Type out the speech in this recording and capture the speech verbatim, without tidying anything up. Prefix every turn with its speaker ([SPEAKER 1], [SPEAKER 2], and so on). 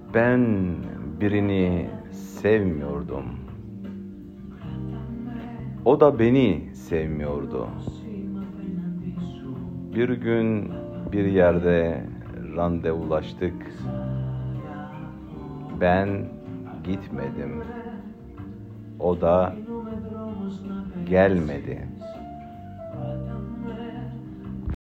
[SPEAKER 1] Ben birini sevmiyordum. O da beni sevmiyordu. Bir gün bir yerde randevulaştık. Ben gitmedim. O da gelmedi.